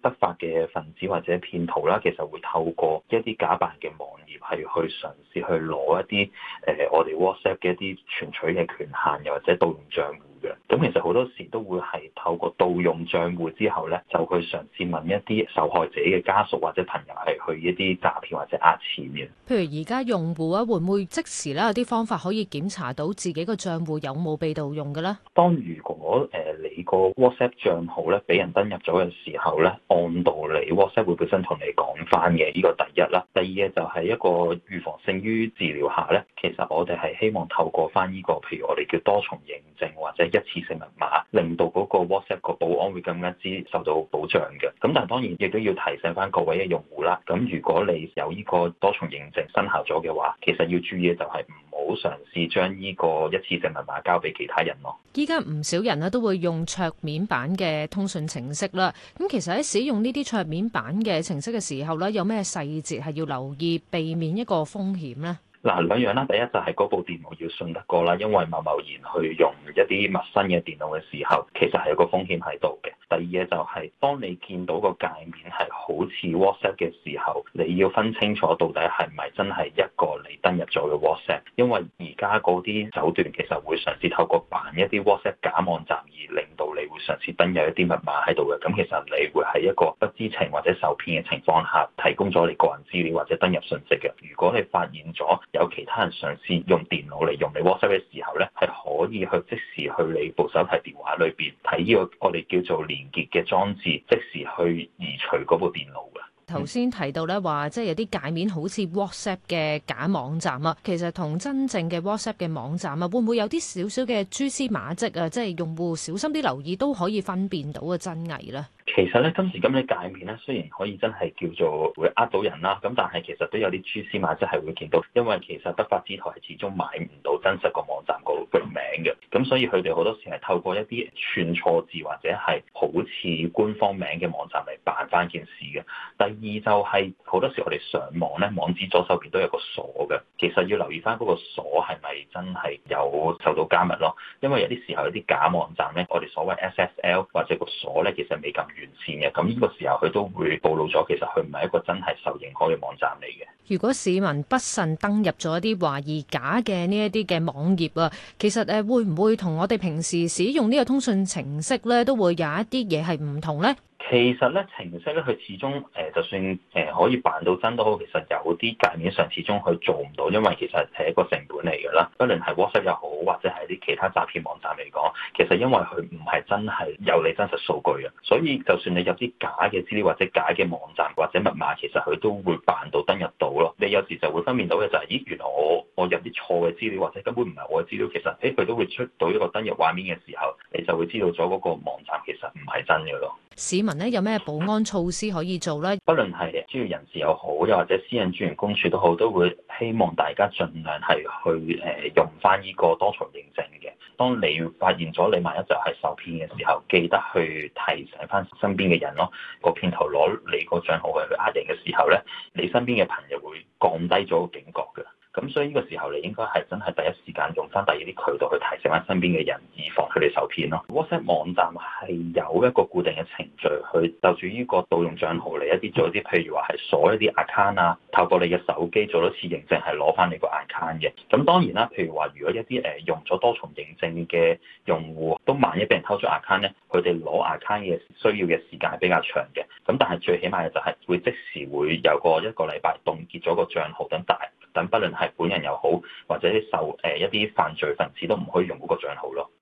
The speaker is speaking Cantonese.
不法嘅分子或者騙徒啦，其實會透過一啲假扮嘅網頁係去嘗試去攞一啲我哋 WhatsApp 嘅一啲存取嘅權限，又或者盜用帳戶嘅。咁其實好多時都會係透過盜用帳戶之後咧，就去嘗試問一啲受害者嘅家屬或者朋友係去一啲詐騙或者呃錢嘅。 譬如而家用戶啊，會唔會即時咧有啲方法可以檢查到自己個帳戶有冇被盜用嘅咧？ 當如果你個 WhatsApp 帳號咧俾人登入咗嘅時候咧，按道理 WhatsApp 會本身同你講翻嘅，呢個第一啦。第二嘅就係一個預防勝於治療下咧，其實我哋係希望透過翻呢個，譬如我哋叫多重認證或者一次性密碼，令到嗰個 WhatsApp 個保安會更加之受到保障嘅。咁但係當然亦都要提醒翻各位嘅用戶啦。咁如果你有呢個多重認證生效咗嘅話，其實要注意嘅就係唔好嘗試將呢個一次性密碼交俾其他人咯。 依家唔少人咧都會用桌面版嘅通訊程式啦。咁其實喺使用呢啲桌面版嘅程式嘅時候咧，有咩細節係要留意，避免一個風險咧？ 嗱，兩樣啦，第一就係嗰部電腦要信得過啦，因為貿貿然去用一啲陌生嘅電腦嘅時候，其實係有個風險喺度嘅。第二嘅就係當你見到個界面係好似 WhatsApp 嘅時候，你要分清楚到底係咪真係一個你登入咗嘅 WhatsApp，因為而家嗰啲手段其實會嘗試透過扮一啲 WhatsApp 假網站而令到你會嘗試登入一啲密碼喺度嘅。咁其實你會喺一個不知情或者受騙嘅情況下提供咗你個人資料或者登入信息嘅。如果你發現咗有其他人嘗試用電腦嚟用你 WhatsApp 嘅時候咧，係可以去即時去你部手提電話裏邊睇呢個我哋叫做連結嘅裝置，即時去移除嗰部電腦嘅。 頭先提到咧話，即係有啲界面好似 WhatsApp 嘅假網站啊，其實同真正嘅 WhatsApp 嘅網站啊，會唔會有啲少少嘅蛛絲馬跡啊？即係用戶小心啲留意都可以分辨到嘅真偽咧。 其實咧，今時今日界面咧，雖然可以真係叫做會呃到人啦，咁但係其實都有啲蛛絲馬跡係會見到，因為其實不法之徒係始終買唔到真實個網站個名嘅，咁所以佢哋好多時係透過一啲串錯字或者係好似官方名嘅網站嚟扮翻件事嘅。第二就係好多時我哋上網咧，網址左手邊都有個鎖嘅，其實要留意翻嗰個鎖係咪真係有受到加密咯，因為有啲時候有啲假網站咧，我哋所謂 SSL 或者個鎖咧，其實未咁完善嘅，咁呢個時候佢都會暴露咗，其實佢唔係一個真係受認可嘅網站嚟嘅。 如果市民不慎登入咗一啲懷疑假嘅呢一啲嘅網頁啊，其實會唔會同我哋平時使用呢個通訊程式咧，都會有一啲嘢係唔同咧？ 其實咧，程式咧，佢始終就算可以扮到真都好，其實有啲界面上始終佢做唔到，因為其實係一個成本嚟㗎啦。不論係 WhatsApp 又好，或者係啲其他詐騙網站嚟講，其實因為佢唔係真係有你真實數據嘅，所以就算你有啲假嘅資料或者假嘅網站或者密碼，其實佢都會扮到登入到咯。你有時就會分辨到嘅就係，咦，原來我入啲錯嘅資料或者根本唔係我嘅資料，其實佢都會出到一個登入畫面嘅時候，你就會知道咗嗰個網站其實唔係真嘅咯。 市民咧有咩保安措施可以做咧？ 不論係專業人士又好，又或者私隱專員公署都好，都會希望大家盡量係去用翻呢個多重認證嘅。當你發現咗你萬一就係受騙嘅時候，記得去提醒翻身邊嘅人咯。個騙徒攞你個帳號去呃人嘅時候咧，你身邊嘅朋友會降低咗個警覺嘅。咁所以呢個時候你應該係真係第一時間用翻第二啲渠道去提醒翻身邊嘅人，以防佢哋受騙咯。WhatsApp 網站係有一個固定嘅程序去就住呢個盜用帳號嚟一啲做一啲，譬如話係鎖一啲 account 啊，透過你嘅手機做多次認證係攞翻你個 account 嘅。咁當然啦，譬如話如果一啲用咗多重認證嘅用戶都萬一俾人偷咗 account 咧，佢哋攞 account 嘅需要嘅時間係比較長嘅。咁但係最起碼嘅就係會即時會有一個禮拜凍結咗個帳號等不論係本人又好，或者受一啲犯罪分子都唔可以用嗰個帳號咯。